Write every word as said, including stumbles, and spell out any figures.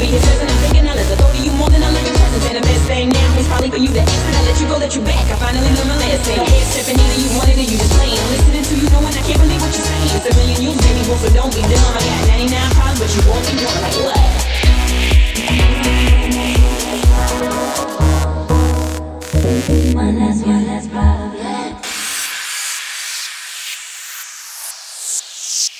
be your present. I'm thinking I let the thought of you more than I love your presence. And the best thing now is probably for you to exit. I let you go, let you back. I finally learned my lesson. Head stepping either you wanted or you just playing. I'm listening to you knowing I can't believe what you're saying. It's a million you, baby, well, so don't be dumb. I got ninety-nine problems, but you won't be one. Like what? One last, one last problem.